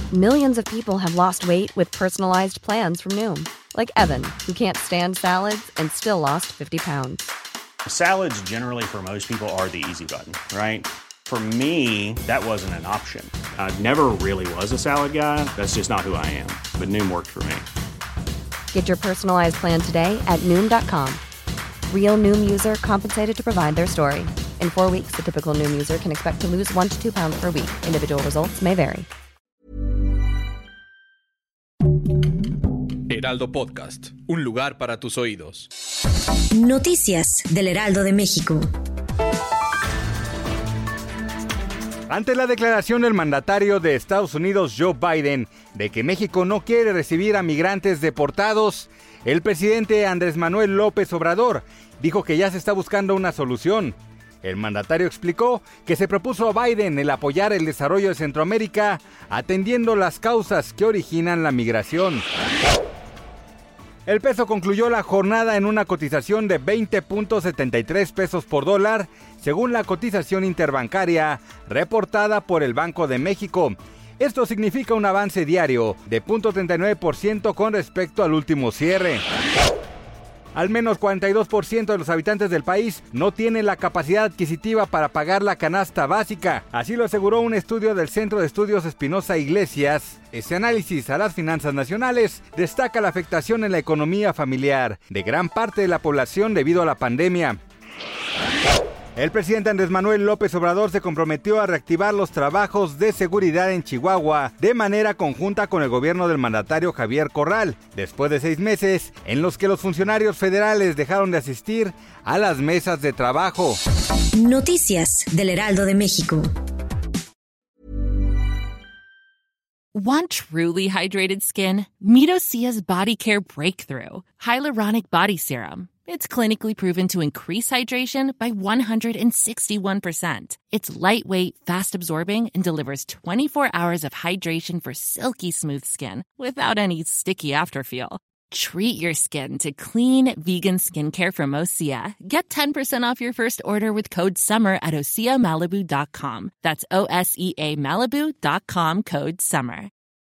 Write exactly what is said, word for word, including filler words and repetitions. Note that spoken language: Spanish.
Millions of people have lost weight with personalized plans from Noom. Like Evan, who can't stand salads and still lost fifty pounds. Salads generally for most people are the easy button, right? For me, that wasn't an option. I never really was a salad guy. That's just not who I am. But Noom worked for me. Get your personalized plan today at Noom dot com. Real Noom user compensated to provide their story. In four weeks, the typical Noom user can expect to lose one to two pounds per week. Individual results may vary. Heraldo Podcast, un lugar para tus oídos. Noticias del Heraldo de México. Ante la declaración del mandatario de Estados Unidos, Joe Biden, de que México no quiere recibir a migrantes deportados, el presidente Andrés Manuel López Obrador dijo que ya se está buscando una solución. El mandatario explicó que se propuso a Biden el apoyar el desarrollo de Centroamérica, atendiendo las causas que originan la migración. El peso concluyó la jornada en una cotización de veinte punto setenta y tres pesos por dólar, según la cotización interbancaria reportada por el Banco de México. Esto significa un avance diario de cero punto treinta y nueve por ciento con respecto al último cierre. Al menos cuarenta y dos por ciento de los habitantes del país no tienen la capacidad adquisitiva para pagar la canasta básica. Así lo aseguró un estudio del Centro de Estudios Espinosa Iglesias. Ese análisis a las finanzas nacionales destaca la afectación en la economía familiar de gran parte de la población debido a la pandemia. El presidente Andrés Manuel López Obrador se comprometió a reactivar los trabajos de seguridad en Chihuahua de manera conjunta con el gobierno del mandatario Javier Corral, después de seis meses en los que los funcionarios federales dejaron de asistir a las mesas de trabajo. Noticias del Heraldo de México. Want truly hydrated skin? Meet Osea's Body Care Breakthrough Hyaluronic Body Serum. It's clinically proven to increase hydration by one hundred sixty-one percent. It's lightweight, fast-absorbing, and delivers twenty-four hours of hydration for silky smooth skin without any sticky afterfeel. Treat your skin to clean, vegan skincare from Osea. Get ten percent off your first order with code SUMMER at osea malibu dot com. That's O S E A Malibu dot com, code SUMMER.